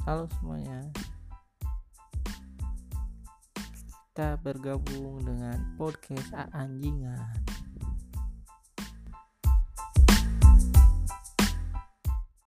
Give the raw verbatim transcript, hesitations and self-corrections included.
Halo semuanya, kita bergabung dengan podcast A Anjingan.